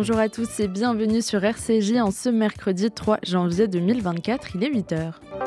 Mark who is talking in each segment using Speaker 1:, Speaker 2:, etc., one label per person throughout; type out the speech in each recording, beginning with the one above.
Speaker 1: Bonjour à tous et bienvenue sur RCJ en ce mercredi 3 janvier 2024, il est 8h.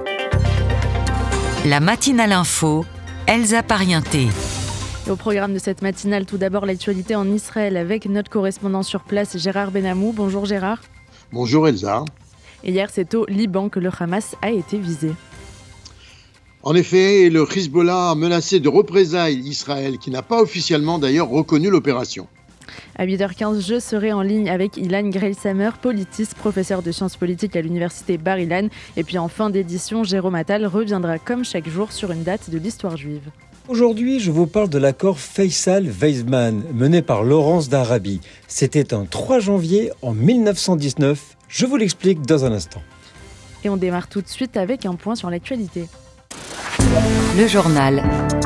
Speaker 2: La matinale info, Elsa Parienté.
Speaker 1: Et au programme de cette matinale, tout d'abord l'actualité en Israël avec notre correspondant sur place Gérard Benamou. Bonjour Gérard.
Speaker 3: Bonjour Elsa.
Speaker 1: Et hier, c'est au Liban que le Hamas a été visé.
Speaker 3: En effet, le Hezbollah a menacé de représailles Israël, qui n'a pas officiellement d'ailleurs reconnu l'opération.
Speaker 1: À 8h15, je serai en ligne avec Ilan Greilsamer, politiste, professeur de sciences politiques à l'université Bar-Ilan. Et puis en fin d'édition, Jérôme Attal reviendra comme chaque jour sur une date de l'histoire juive.
Speaker 4: Aujourd'hui, je vous parle de l'accord Faisal-Weizmann, mené par Laurence d'Arabie. C'était un 3 janvier en 1919. Je vous l'explique dans un instant.
Speaker 1: Et on démarre tout de suite avec un point sur l'actualité.
Speaker 2: Le journal.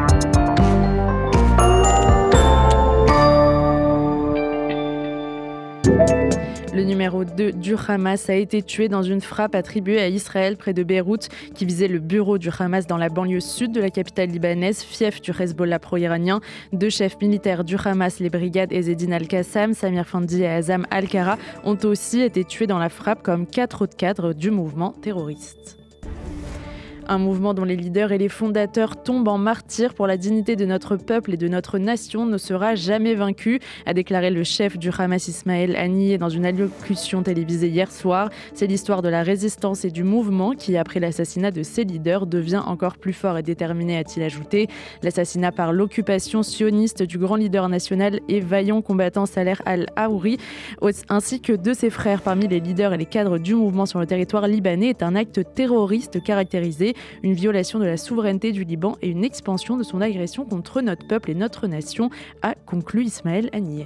Speaker 1: Le numéro 2 du Hamas a été tué dans une frappe attribuée à Israël près de Beyrouth qui visait le bureau du Hamas dans la banlieue sud de la capitale libanaise, fief du Hezbollah pro-iranien. 2 chefs militaires du Hamas, les brigades Ezzedine Al-Qassam, Samir Fandi et Azam Al-Kara, ont aussi été tués dans la frappe comme 4 autres cadres du mouvement terroriste. Un mouvement dont les leaders et les fondateurs tombent en martyrs pour la dignité de notre peuple et de notre nation ne sera jamais vaincu, a déclaré le chef du Hamas Ismaël Haniyeh dans une allocution télévisée hier soir. C'est l'histoire de la résistance et du mouvement qui, après l'assassinat de ses leaders, devient encore plus fort et déterminé, a-t-il ajouté. L'assassinat par l'occupation sioniste du grand leader national et vaillant combattant Salah al-Haouri, ainsi que de ses frères parmi les leaders et les cadres du mouvement sur le territoire libanais, est un acte terroriste caractérisé, une violation de la souveraineté du Liban et une expansion de son agression contre notre peuple et notre nation, a conclu Ismaël Haniyeh.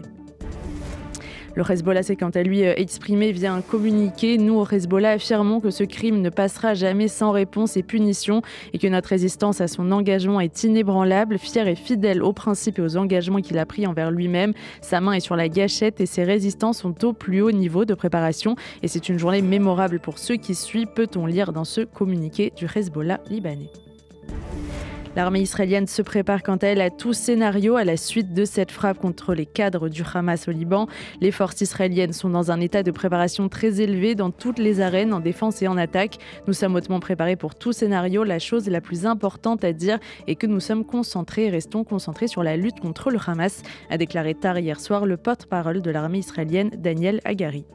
Speaker 1: Le Hezbollah s'est quant à lui exprimé via un communiqué. Nous, au Hezbollah, affirmons que ce crime ne passera jamais sans réponse et punition et que notre résistance à son engagement est inébranlable, fier et fidèle aux principes et aux engagements qu'il a pris envers lui-même. Sa main est sur la gâchette et ses résistants sont au plus haut niveau de préparation. Et c'est une journée mémorable pour ceux qui suivent, peut-on lire dans ce communiqué du Hezbollah libanais. L'armée israélienne se prépare quant à elle à tout scénario à la suite de cette frappe contre les cadres du Hamas au Liban. Les forces israéliennes sont dans un état de préparation très élevé dans toutes les arènes, en défense et en attaque. Nous sommes hautement préparés pour tout scénario. La chose la plus importante à dire est que nous sommes concentrés et restons concentrés sur la lutte contre le Hamas, a déclaré tard hier soir le porte-parole de l'armée israélienne, Daniel Hagari.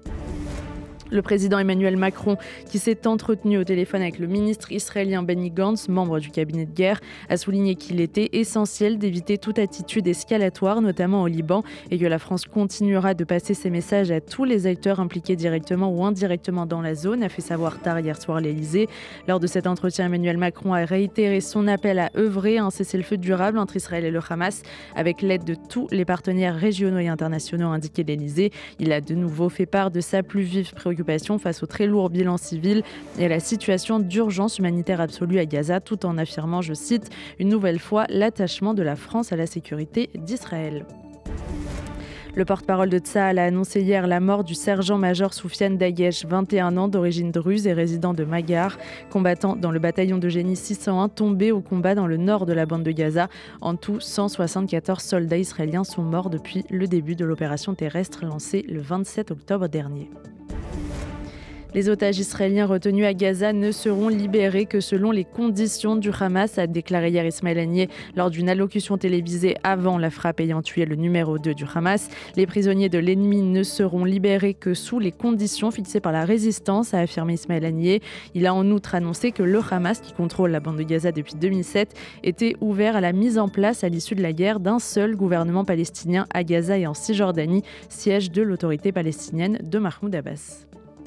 Speaker 1: Le président Emmanuel Macron, qui s'est entretenu au téléphone avec le ministre israélien Benny Gantz, membre du cabinet de guerre, a souligné qu'il était essentiel d'éviter toute attitude escalatoire, notamment au Liban, et que la France continuera de passer ses messages à tous les acteurs impliqués directement ou indirectement dans la zone, a fait savoir tard hier soir l'Elysée. Lors de cet entretien, Emmanuel Macron a réitéré son appel à œuvrer à un cessez-le-feu durable entre Israël et le Hamas, avec l'aide de tous les partenaires régionaux et internationaux, a indiqué l'Elysée. Il a de nouveau fait part de sa plus vive préoccupation face au très lourd bilan civil et à la situation d'urgence humanitaire absolue à Gaza, tout en affirmant, je cite, une nouvelle fois l'attachement de la France à la sécurité d'Israël. Le porte-parole de Tsahal a annoncé hier la mort du sergent-major Soufiane Dagesh, 21 ans, d'origine druze et résident de Magar, combattant dans le bataillon de génie 601, tombé au combat dans le nord de la bande de Gaza. En tout, 174 soldats israéliens sont morts depuis le début de l'opération terrestre lancée le 27 octobre dernier. Les otages israéliens retenus à Gaza ne seront libérés que selon les conditions du Hamas, a déclaré hier Ismaël Haniyeh lors d'une allocution télévisée avant la frappe ayant tué le numéro 2 du Hamas. Les prisonniers de l'ennemi ne seront libérés que sous les conditions fixées par la résistance, a affirmé Ismaël Haniyeh. Il a en outre annoncé que le Hamas, qui contrôle la bande de Gaza depuis 2007, était ouvert à la mise en place à l'issue de la guerre d'un seul gouvernement palestinien à Gaza et en Cisjordanie, siège de l'autorité palestinienne de Mahmoud Abbas.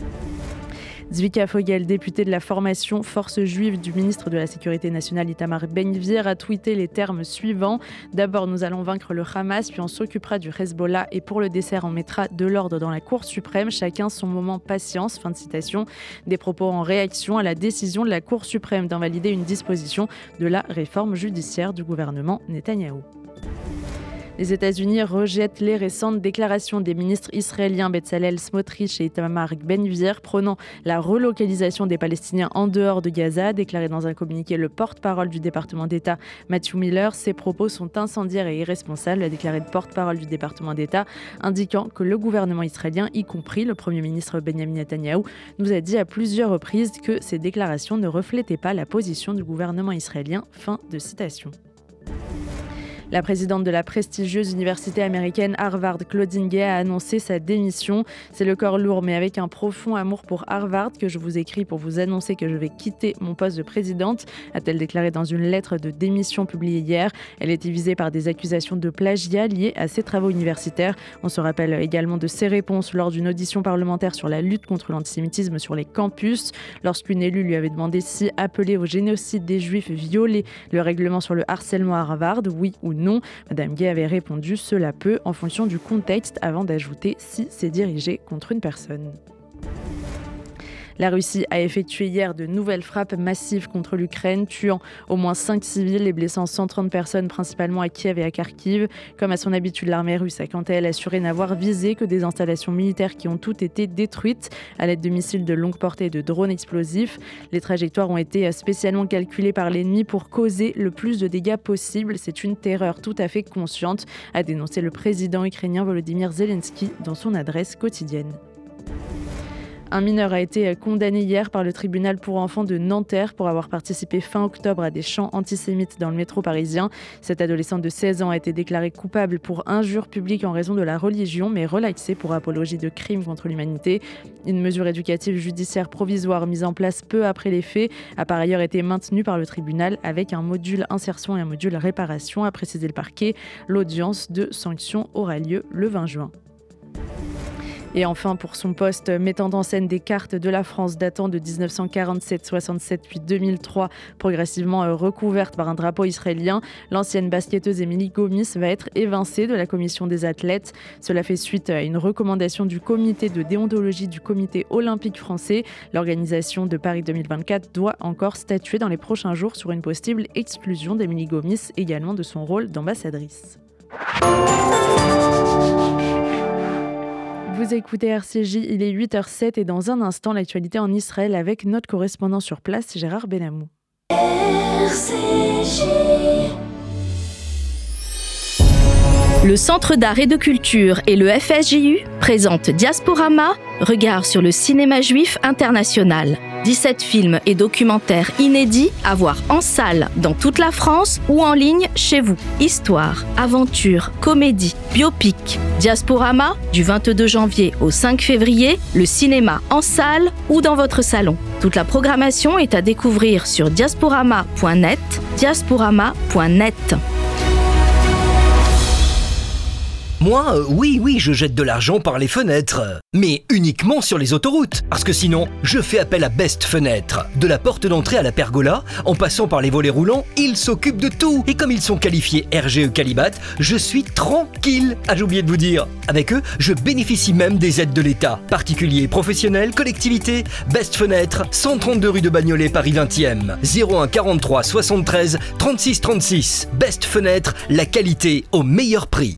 Speaker 1: Zvika Fogel, député de la formation Force juive du ministre de la Sécurité nationale Itamar Ben-Gvir, a tweeté les termes suivants. D'abord, nous allons vaincre le Hamas, puis on s'occupera du Hezbollah et pour le dessert, on mettra de l'ordre dans la Cour suprême. Chacun son moment patience. Fin de citation. Des propos en réaction à la décision de la Cour suprême d'invalider une disposition de la réforme judiciaire du gouvernement Netanyahou. Les États-Unis rejettent les récentes déclarations des ministres israéliens Bezalel Smotrich et Itamar Ben-Gvir prônant la relocalisation des Palestiniens en dehors de Gaza, déclaré dans un communiqué le porte-parole du département d'État Matthew Miller. Ces propos sont incendiaires et irresponsables, a déclaré le porte-parole du département d'État, indiquant que le gouvernement israélien, y compris le Premier ministre Benjamin Netanyahou, nous a dit à plusieurs reprises que ces déclarations ne reflétaient pas la position du gouvernement israélien. Fin de citation. La présidente de la prestigieuse université américaine Harvard, Claudine Gay, a annoncé sa démission. C'est le corps lourd mais avec un profond amour pour Harvard que je vous écris pour vous annoncer que je vais quitter mon poste de présidente, a-t-elle déclaré dans une lettre de démission publiée hier. Elle était visée par des accusations de plagiat liées à ses travaux universitaires. On se rappelle également de ses réponses lors d'une audition parlementaire sur la lutte contre l'antisémitisme sur les campus. Lorsqu'une élue lui avait demandé si appeler au génocide des Juifs violait le règlement sur le harcèlement à Harvard, oui ou non. Madame Gay avait répondu « Cela peut » en fonction du contexte avant d'ajouter « si c'est dirigé contre une personne ». La Russie a effectué hier de nouvelles frappes massives contre l'Ukraine, tuant au moins 5 civils et blessant 130 personnes, principalement à Kiev et à Kharkiv. Comme à son habitude, l'armée russe a quant à elle assuré n'avoir visé que des installations militaires qui ont toutes été détruites à l'aide de missiles de longue portée et de drones explosifs. Les trajectoires ont été spécialement calculées par l'ennemi pour causer le plus de dégâts possible. C'est une terreur tout à fait consciente, a dénoncé le président ukrainien Volodymyr Zelensky dans son adresse quotidienne. Un mineur a été condamné hier par le tribunal pour enfants de Nanterre pour avoir participé fin octobre à des chants antisémites dans le métro parisien. Cet adolescent de 16 ans a été déclaré coupable pour injure publique en raison de la religion, mais relaxé pour apologie de crimes contre l'humanité. Une mesure éducative judiciaire provisoire mise en place peu après les faits a par ailleurs été maintenue par le tribunal avec un module insertion et un module réparation, a précisé le parquet. L'audience de sanction aura lieu le 20 juin. Et enfin, pour son poste mettant en scène des cartes de la France datant de 1947-67 puis 2003, progressivement recouvertes par un drapeau israélien, l'ancienne basketteuse Émilie Gomis va être évincée de la commission des athlètes. Cela fait suite à une recommandation du comité de déontologie du comité olympique français. L'organisation de Paris 2024 doit encore statuer dans les prochains jours sur une possible exclusion d'Émilie Gomis, également de son rôle d'ambassadrice. Vous écoutez RCJ, il est 8h07 et dans un instant, l'actualité en Israël avec notre correspondant sur place, Gérard Benamou. RCJ.
Speaker 5: Le Centre d'art et de culture et le FSJU présentent Diasporama, regard sur le cinéma juif international. 17 films et documentaires inédits à voir en salle dans toute la France ou en ligne chez vous. Histoire, aventure, comédie, biopic. Diasporama, du 22 janvier au 5 février, le cinéma en salle ou dans votre salon. Toute la programmation est à découvrir sur diasporama.net, diasporama.net.
Speaker 6: Moi, oui, je jette de l'argent par les fenêtres. Mais uniquement sur les autoroutes. Parce que sinon, je fais appel à Best Fenêtre. De la porte d'entrée à la pergola, en passant par les volets roulants, ils s'occupent de tout. Et comme ils sont qualifiés RGE Qualibat, je suis tranquille. Ah, j'ai oublié de vous dire. Avec eux, je bénéficie même des aides de l'État. Particuliers, professionnels, collectivités. Best Fenêtre, 132 rue de Bagnolet, Paris 20e. 01 43 73 36 36. Best Fenêtre, la qualité au meilleur prix.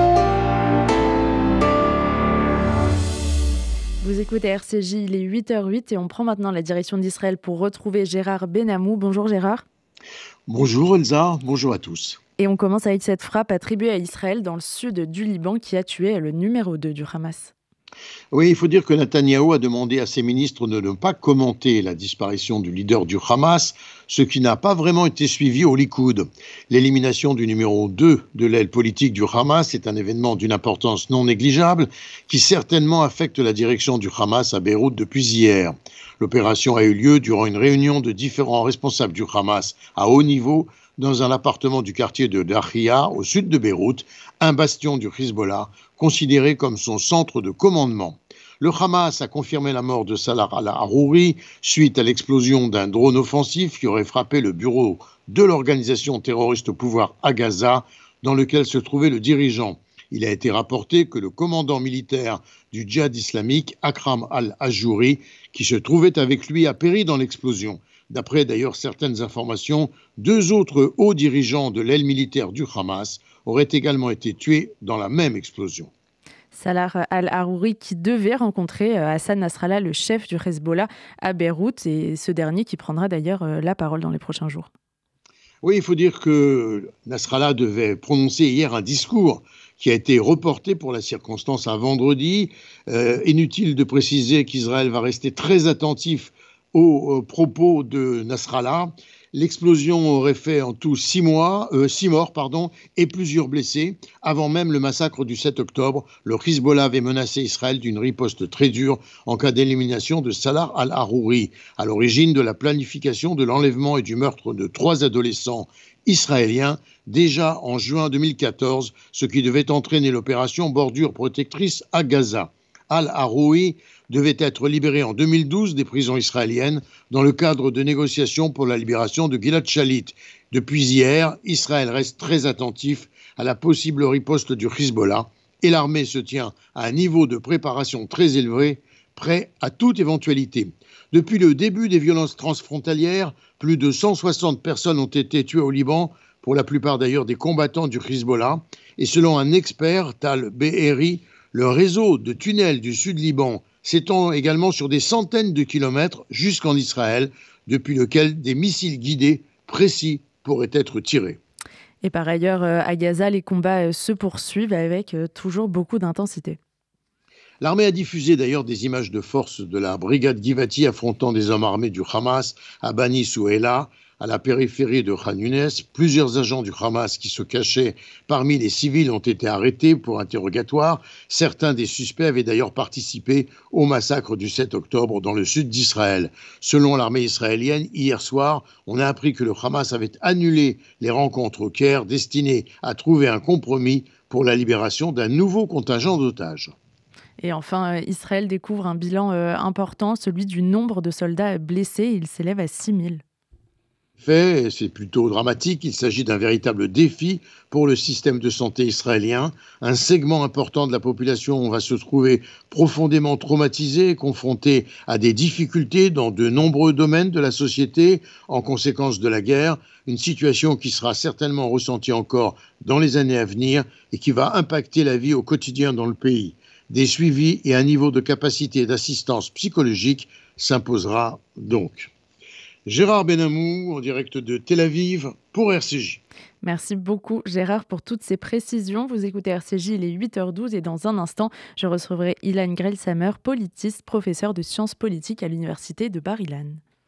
Speaker 1: Vous écoutez RCJ, il est 8h08 et on prend maintenant la direction d'Israël pour retrouver Gérard Benamou. Bonjour Gérard.
Speaker 3: Bonjour Elsa, bonjour à tous.
Speaker 1: Et on commence avec cette frappe attribuée à Israël dans le sud du Liban qui a tué le numéro 2 du Hamas.
Speaker 3: Oui, il faut dire que Netanyahou a demandé à ses ministres de ne pas commenter la disparition du leader du Hamas, ce qui n'a pas vraiment été suivi au Likoud. L'élimination du numéro 2 de l'aile politique du Hamas est un événement d'une importance non négligeable qui certainement affecte la direction du Hamas à Beyrouth depuis hier. L'opération a eu lieu durant une réunion de différents responsables du Hamas à haut niveau dans un appartement du quartier de Dahia, au sud de Beyrouth, un bastion du Hezbollah, considéré comme son centre de commandement. Le Hamas a confirmé la mort de Salah al-Harouri suite à l'explosion d'un drone offensif qui aurait frappé le bureau de l'organisation terroriste au pouvoir à Gaza, dans lequel se trouvait le dirigeant. Il a été rapporté que le commandant militaire du djihad islamique, Akram al-Ajouri, qui se trouvait avec lui, a péri dans l'explosion. D'après d'ailleurs certaines informations, 2 autres hauts dirigeants de l'aile militaire du Hamas auraient également été tués dans la même explosion.
Speaker 1: Salah al-Harouri qui devait rencontrer Hassan Nasrallah, le chef du Hezbollah à Beyrouth, et ce dernier qui prendra d'ailleurs la parole dans les prochains jours.
Speaker 3: Oui, il faut dire que Nasrallah devait prononcer hier un discours qui a été reporté pour la circonstance à vendredi. Inutile de préciser qu'Israël va rester très attentif aux propos de Nasrallah. L'explosion aurait fait en tout 6 morts et plusieurs blessés. Avant même le massacre du 7 octobre, le Hezbollah avait menacé Israël d'une riposte très dure en cas d'élimination de Salah al-Harouri, à l'origine de la planification de l'enlèvement et du meurtre de 3 adolescents israéliens déjà en juin 2014, ce qui devait entraîner l'opération Bordure protectrice à Gaza. Al-Harouri devait être libéré en 2012 des prisons israéliennes dans le cadre de négociations pour la libération de Gilad Shalit. Depuis hier, Israël reste très attentif à la possible riposte du Hezbollah et l'armée se tient à un niveau de préparation très élevé, prêt à toute éventualité. Depuis le début des violences transfrontalières, plus de 160 personnes ont été tuées au Liban, pour la plupart d'ailleurs des combattants du Hezbollah. Et selon un expert, Tal Be'eri, le réseau de tunnels du Sud-Liban s'étend également sur des centaines de kilomètres jusqu'en Israël, depuis lequel des missiles guidés précis pourraient être tirés.
Speaker 1: Et par ailleurs, à Gaza, les combats se poursuivent avec toujours beaucoup d'intensité.
Speaker 3: L'armée a diffusé d'ailleurs des images de forces de la brigade Givati affrontant des hommes armés du Hamas à Bani Souheila, à la périphérie de Khan Younes. Plusieurs agents du Hamas qui se cachaient parmi les civils ont été arrêtés pour interrogatoire. Certains des suspects avaient d'ailleurs participé au massacre du 7 octobre dans le sud d'Israël. Selon l'armée israélienne, hier soir, on a appris que le Hamas avait annulé les rencontres au Caire destinées à trouver un compromis pour la libération d'un nouveau contingent d'otages.
Speaker 1: Et enfin, Israël découvre un bilan important, celui du nombre de soldats blessés. Il s'élève à 6 000.
Speaker 3: C'est plutôt dramatique. Il s'agit d'un véritable défi pour le système de santé israélien. Un segment important de la population va se trouver profondément traumatisé, confronté à des difficultés dans de nombreux domaines de la société en conséquence de la guerre. Une situation qui sera certainement ressentie encore dans les années à venir et qui va impacter la vie au quotidien dans le pays. Des suivis et un niveau de capacité d'assistance psychologique s'imposera donc. Gérard Benamou, en direct de Tel Aviv, pour RCJ.
Speaker 1: Merci beaucoup Gérard pour toutes ces précisions. Vous écoutez RCJ, il est 8h12 et dans un instant, je recevrai Ilan Grell-Samer, politiste, professeur de sciences politiques à l'université de Bar-Ilan.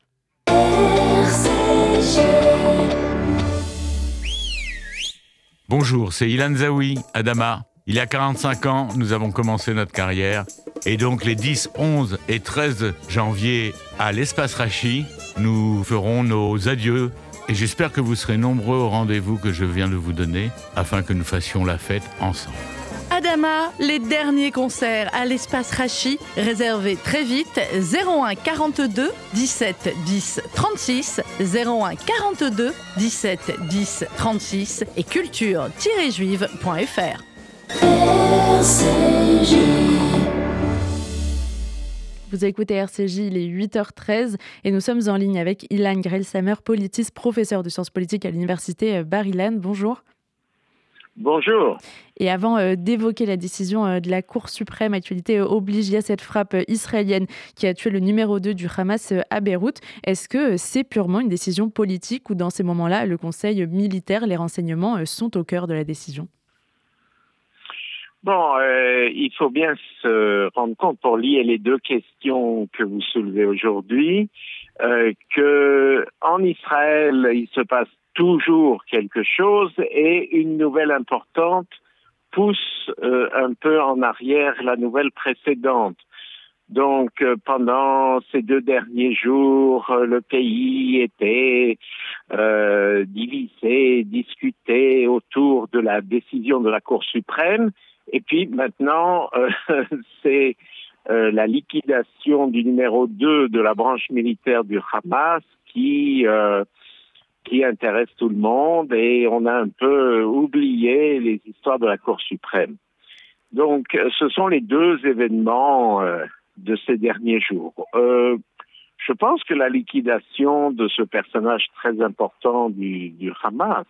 Speaker 7: Bonjour, c'est Ilan Zaoui, Adama. Il y a 45 ans, nous avons commencé notre carrière. Et donc les 10, 11 et 13 janvier à l'Espace Rachi, nous ferons nos adieux. Et j'espère que vous serez nombreux au rendez-vous que je viens de vous donner afin que nous fassions la fête ensemble.
Speaker 8: Adama, les derniers concerts à l'Espace Rachi, réservez très vite 01 42 17 10 36, 01 42 17 10 36 et culture-juive.fr.
Speaker 1: Vous écoutez RCJ, il est 8h13 et nous sommes en ligne avec Ilan Grell-Samer, politiste, professeur de sciences politiques à l'université Bar-Ilan. Bonjour.
Speaker 9: Bonjour.
Speaker 1: Et avant d'évoquer la décision de la Cour suprême, actualité oblige, il y a cette frappe israélienne qui a tué le numéro 2 du Hamas à Beyrouth. Est-ce que c'est purement une décision politique ou dans ces moments-là, le Conseil militaire, les renseignements sont au cœur de la décision ?
Speaker 9: Bon, il faut bien se rendre compte, pour lier les deux questions que vous soulevez aujourd'hui, que en Israël, il se passe toujours quelque chose et une nouvelle importante pousse un peu en arrière la nouvelle précédente. Donc, pendant ces 2 derniers jours, le pays était divisé, discuté autour de la décision de la Cour suprême. Et puis maintenant, c'est la liquidation du numéro 2 de la branche militaire du Hamas qui intéresse tout le monde et on a un peu oublié les histoires de la Cour suprême. Donc, ce sont les 2 événements de ces derniers jours. Je pense que la liquidation de ce personnage très important du Hamas,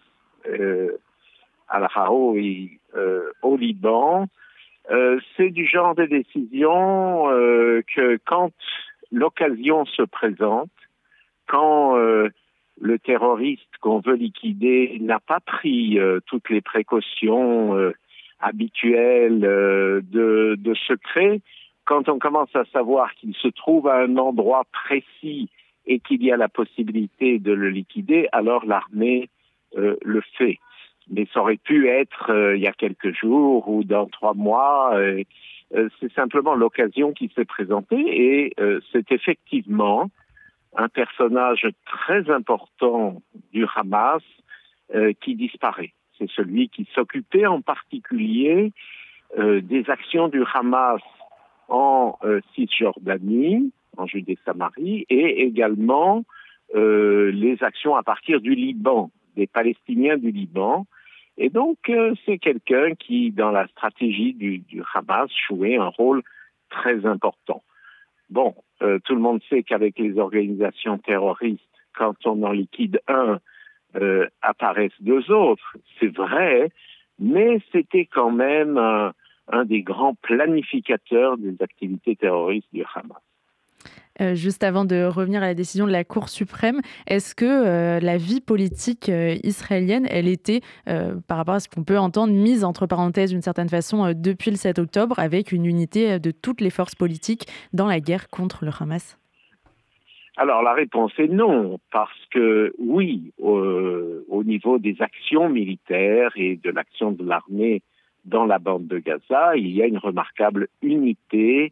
Speaker 9: Al-Haroui, au Liban, c'est du genre de décision que quand l'occasion se présente, quand le terroriste qu'on veut liquider n'a pas pris toutes les précautions habituelles de secret, quand on commence à savoir qu'il se trouve à un endroit précis et qu'il y a la possibilité de le liquider, alors l'armée le fait. Mais ça aurait pu être il y a quelques jours ou dans 3 mois. C'est simplement l'occasion qui s'est présentée et c'est effectivement un personnage très important du Hamas qui disparaît. C'est celui qui s'occupait en particulier des actions du Hamas en Cisjordanie, en Judée-Samarie, et également les actions à partir du Liban, des Palestiniens du Liban. Et donc, c'est quelqu'un qui, dans la stratégie du Hamas, jouait un rôle très important. Bon, tout le monde sait qu'avec les organisations terroristes, quand on en liquide un, apparaissent 2 autres. C'est vrai, mais c'était quand même un des grands planificateurs des activités terroristes du Hamas.
Speaker 1: Juste avant de revenir à la décision de la Cour suprême, est-ce que la vie politique israélienne, elle était, par rapport à ce qu'on peut entendre, mise entre parenthèses d'une certaine façon depuis le 7 octobre, avec une unité de toutes les forces politiques dans la guerre contre le Hamas ?
Speaker 9: Alors la réponse est non, parce que oui, au niveau des actions militaires et de l'action de l'armée dans la bande de Gaza, il y a une remarquable unité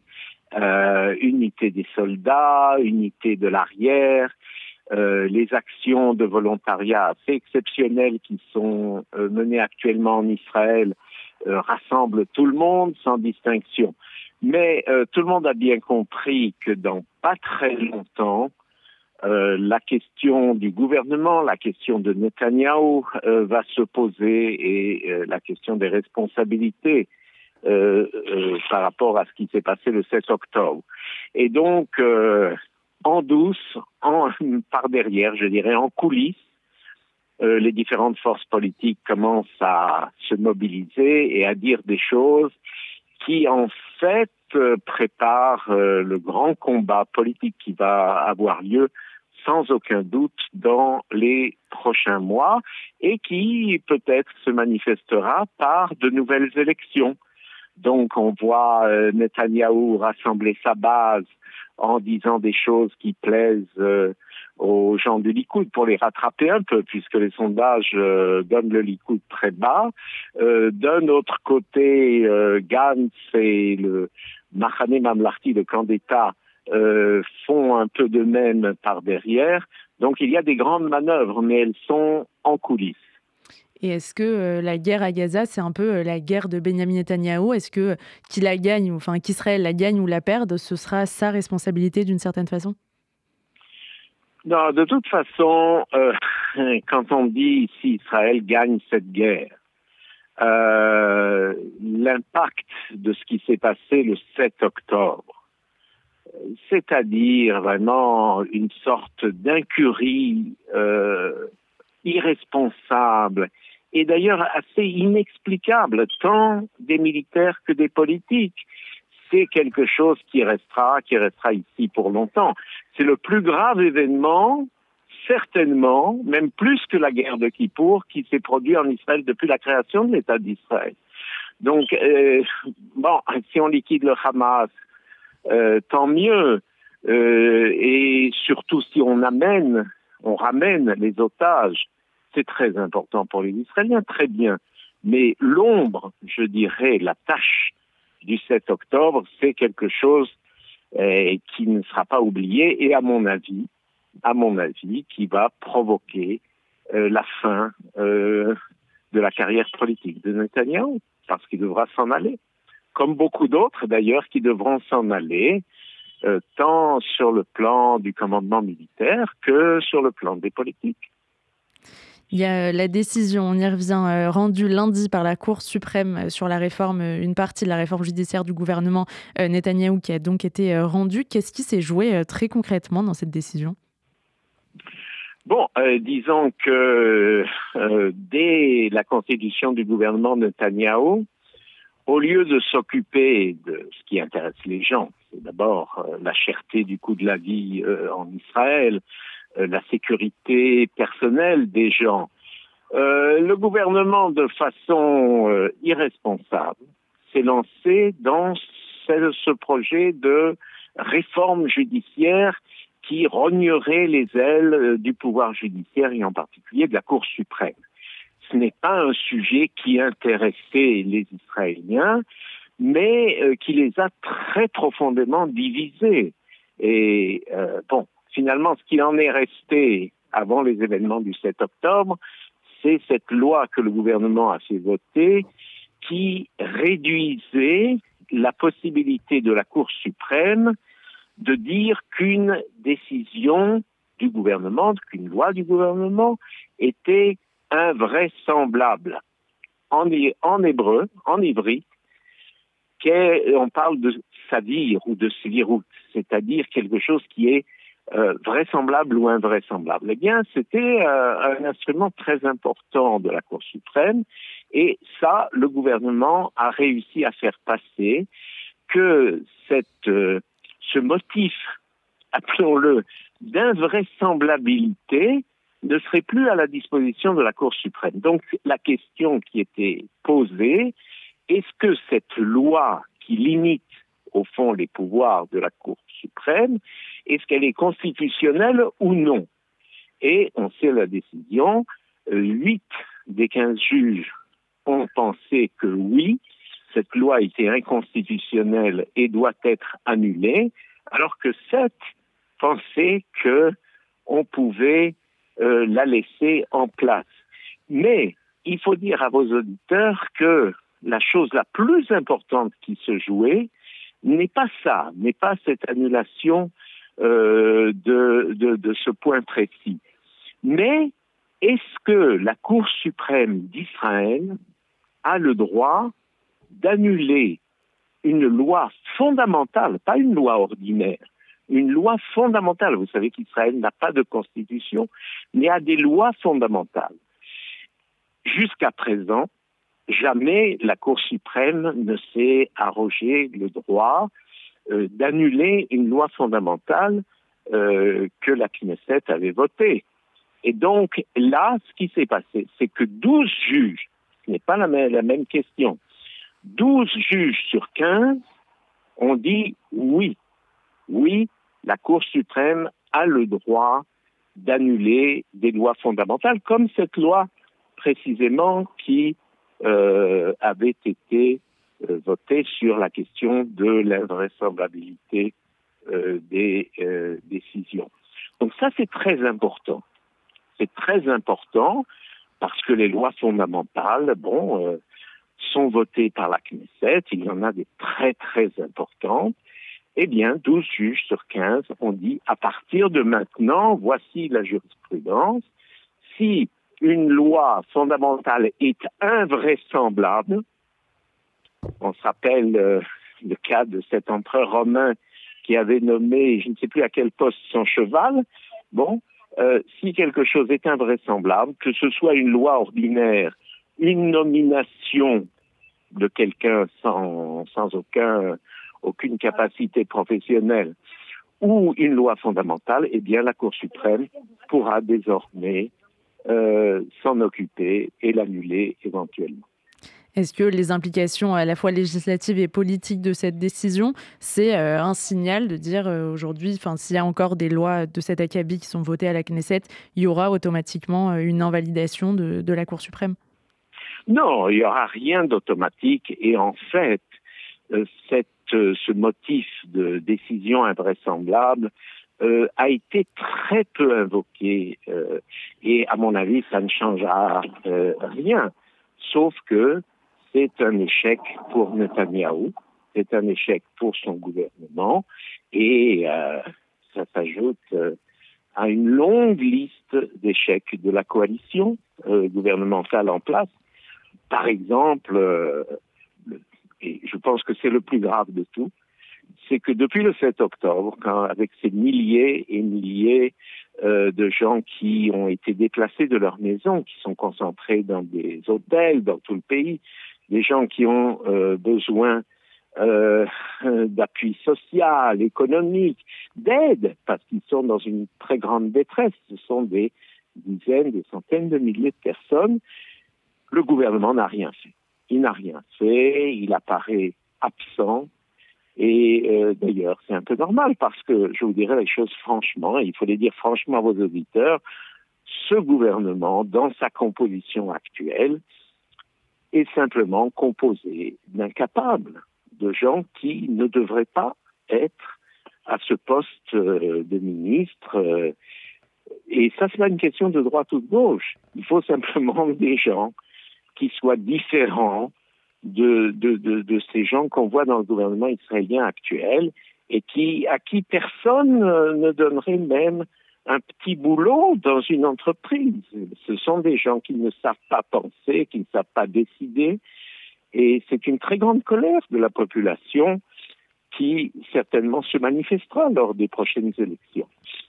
Speaker 9: des soldats, unité de l'arrière, les actions de volontariat assez exceptionnelles qui sont menées actuellement en Israël rassemblent tout le monde sans distinction. Mais tout le monde a bien compris que dans pas très longtemps, la question du gouvernement, la question de Netanyahou va se poser et la question des responsabilités par rapport à ce qui s'est passé le 7 octobre. Et donc, en douce, par derrière, je dirais en coulisses, les différentes forces politiques commencent à se mobiliser et à dire des choses qui, en fait, préparent le grand combat politique qui va avoir lieu sans aucun doute dans les prochains mois et qui peut-être se manifestera par de nouvelles élections. Donc on voit Netanyahou rassembler sa base en disant des choses qui plaisent aux gens du Likoud pour les rattraper un peu, puisque les sondages donnent le Likoud très bas. D'un autre côté, Gantz et le Machane Mamlarti, le camp d'État, font un peu de même par derrière. Donc il y a des grandes manœuvres, mais elles sont en coulisses.
Speaker 1: Et est-ce que la guerre à Gaza, c'est un peu la guerre de Benyamin Netanyahou ? Est-ce que qu'il la gagne, enfin qu'Israël la gagne ou la perde, ce sera sa responsabilité d'une certaine façon ?
Speaker 9: Non, de toute façon, quand on dit si Israël gagne cette guerre, l'impact de ce qui s'est passé le 7 octobre, c'est-à-dire vraiment une sorte d'incurie irresponsable et d'ailleurs assez inexplicable, tant des militaires que des politiques. C'est quelque chose qui restera ici pour longtemps. C'est le plus grave événement, certainement, même plus que la guerre de Kippour, qui s'est produit en Israël depuis la création de l'État d'Israël. Donc, si on liquide le Hamas, tant mieux. Et surtout si on ramène les otages, c'est très important pour les Israéliens, très bien. Mais l'ombre, je dirais, la tâche du 7 octobre, c'est quelque chose qui ne sera pas oublié et à mon avis, qui va provoquer la fin de la carrière politique de Netanyahou, parce qu'il devra s'en aller. Comme beaucoup d'autres d'ailleurs qui devront s'en aller, tant sur le plan du commandement militaire que sur le plan des politiques.
Speaker 1: Il y a la décision, on y revient, rendue lundi par la Cour suprême sur la réforme, une partie de la réforme judiciaire du gouvernement Netanyahou qui a donc été rendue. Qu'est-ce qui s'est joué très concrètement dans cette décision ?
Speaker 9: Bon, disons que dès la constitution du gouvernement Netanyahou, au lieu de s'occuper de ce qui intéresse les gens, c'est d'abord la cherté du coût de la vie en Israël, la sécurité personnelle des gens, le gouvernement, de façon irresponsable, s'est lancé dans ce projet de réforme judiciaire qui rognerait les ailes du pouvoir judiciaire et en particulier de la Cour suprême. Ce n'est pas un sujet qui intéressait les Israéliens, mais qui les a très profondément divisés. Et finalement, ce qu'il en est resté avant les événements du 7 octobre, c'est cette loi que le gouvernement a fait voter qui réduisait la possibilité de la Cour suprême de dire qu'une décision du gouvernement, qu'une loi du gouvernement était invraisemblable. En hébreu, en ivri, on parle de sadir ou de svirut, c'est-à-dire quelque chose qui est vraisemblable ou invraisemblable. Eh bien, c'était un instrument très important de la Cour suprême et ça, le gouvernement a réussi à faire passer que ce motif, appelons-le, d'invraisemblabilité ne serait plus à la disposition de la Cour suprême. Donc, la question qui était posée, est-ce que cette loi qui limite, au fond, les pouvoirs de la Cour suprême, est-ce qu'elle est constitutionnelle ou non? Et on sait la décision, 8 des 15 juges ont pensé que oui, cette loi était inconstitutionnelle et doit être annulée, alors que 7 pensaient qu'on pouvait la laisser en place. Mais il faut dire à vos auditeurs que la chose la plus importante qui se jouait n'est pas ça, n'est pas cette annulation de ce point précis. Mais est-ce que la Cour suprême d'Israël a le droit d'annuler une loi fondamentale, pas une loi ordinaire, une loi fondamentale? Vous savez qu'Israël n'a pas de constitution, mais a des lois fondamentales. Jusqu'à présent, jamais la Cour suprême ne s'est arrogé le droit d'annuler une loi fondamentale que la Knesset avait votée. Et donc là, ce qui s'est passé, c'est que 12 juges, ce n'est pas la même question, 12 juges sur 15 ont dit oui, la Cour suprême a le droit d'annuler des lois fondamentales, comme cette loi précisément qui avait été votée sur la question de l'invraisemblabilité des décisions. Donc ça, c'est très important. C'est très important parce que les lois fondamentales, sont votées par la Knesset. Il y en a des très, très importantes. Eh bien, 12 juges sur 15 ont dit, à partir de maintenant, voici la jurisprudence. Si une loi fondamentale est invraisemblable, on se rappelle le cas de cet empereur romain qui avait nommé, je ne sais plus à quel poste, son cheval. Si quelque chose est invraisemblable, que ce soit une loi ordinaire, une nomination de quelqu'un sans aucune capacité professionnelle ou une loi fondamentale, eh bien la Cour suprême pourra désormais s'en occuper et l'annuler éventuellement.
Speaker 1: Est-ce que les implications à la fois législatives et politiques de cette décision, c'est un signal de dire aujourd'hui, s'il y a encore des lois de cet acabit qui sont votées à la Knesset, il y aura automatiquement une invalidation de la Cour suprême?
Speaker 9: Non, il n'y aura rien d'automatique. Et en fait, ce motif de décision invraisemblable a été très peu invoqué. Et à mon avis, ça ne changera rien. Sauf que c'est un échec pour Netanyahou, c'est un échec pour son gouvernement. Et ça s'ajoute à une longue liste d'échecs de la coalition gouvernementale en place. Par exemple, et je pense que c'est le plus grave de tout, c'est que depuis le 7 octobre, avec ces milliers et milliers de gens qui ont été déplacés de leur maison, qui sont concentrés dans des hôtels dans tout le pays, des gens qui ont besoin d'appui social, économique, d'aide, parce qu'ils sont dans une très grande détresse. Ce sont des dizaines, des centaines de milliers de personnes. Le gouvernement n'a rien fait. Il n'a rien fait, il apparaît absent. Et d'ailleurs, c'est un peu normal parce que, je vous dirais les choses franchement, et il faut les dire franchement à vos auditeurs, ce gouvernement, dans sa composition actuelle, est simplement composé d'incapables, de gens qui ne devraient pas être à ce poste de ministre. Et ça, c'est pas une question de droite ou de gauche. Il faut simplement des gens qui soient différents de ces gens qu'on voit dans le gouvernement israélien actuel et à qui personne ne donnerait même un petit boulot dans une entreprise. Ce sont des gens qui ne savent pas penser, qui ne savent pas décider. Et c'est une très grande colère de la population qui certainement se manifestera lors des prochaines élections.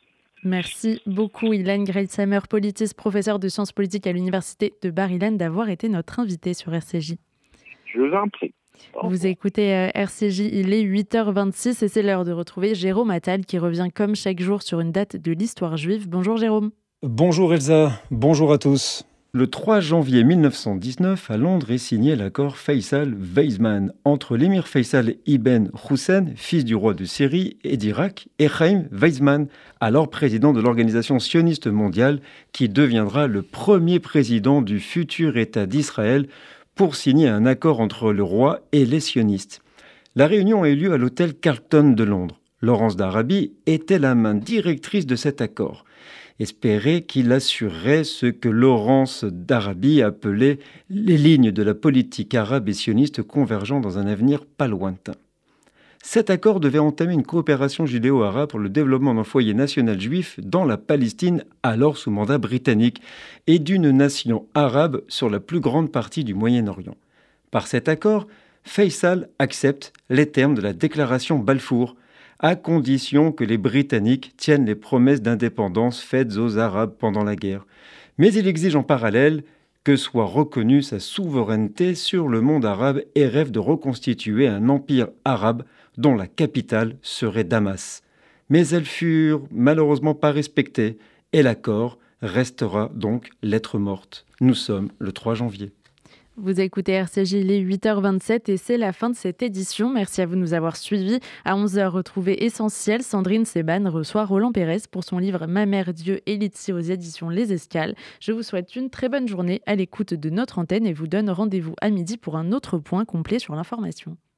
Speaker 1: Merci beaucoup Ilan Greitsheimer, politiste, professeur de sciences politiques à l'université de Bar-Ilan, d'avoir été notre invité sur RCJ.
Speaker 9: Je vous en prie.
Speaker 1: Vous écoutez RCJ, il est 8h26 et c'est l'heure de retrouver Jérôme Attal qui revient comme chaque jour sur une date de l'histoire juive. Bonjour Jérôme.
Speaker 4: Bonjour Elsa, bonjour à tous. Le 3 janvier 1919, à Londres, est signé l'accord Faysal-Weizmann entre l'émir Faysal ibn Hussein, fils du roi de Syrie et d'Irak, et Chaim Weizmann, alors président de l'Organisation sioniste mondiale, qui deviendra le premier président du futur État d'Israël pour signer un accord entre le roi et les sionistes. La réunion a eu lieu à l'hôtel Carlton de Londres. Laurence d'Arabie était la main directrice de cet accord. Espérait qu'il assurerait ce que Laurence d'Arabie appelait les lignes de la politique arabe et sioniste convergeant dans un avenir pas lointain. Cet accord devait entamer une coopération judéo-arabe pour le développement d'un foyer national juif dans la Palestine, alors sous mandat britannique, et d'une nation arabe sur la plus grande partie du Moyen-Orient. Par cet accord, Faysal accepte les termes de la déclaration Balfour, à condition que les Britanniques tiennent les promesses d'indépendance faites aux Arabes pendant la guerre. Mais il exige en parallèle que soit reconnue sa souveraineté sur le monde arabe et rêve de reconstituer un empire arabe dont la capitale serait Damas. Mais elles furent malheureusement pas respectées et l'accord restera donc lettre morte. Nous sommes le 3 janvier.
Speaker 1: Vous écoutez RCJ, il est 8h27 et c'est la fin de cette édition. Merci à vous de nous avoir suivis. À 11h, retrouvez Essentiel. Sandrine Seban reçoit Roland Pérez pour son livre Ma mère Dieu et Litsi aux éditions Les Escales. Je vous souhaite une très bonne journée à l'écoute de notre antenne et vous donne rendez-vous à midi pour un autre point complet sur l'information.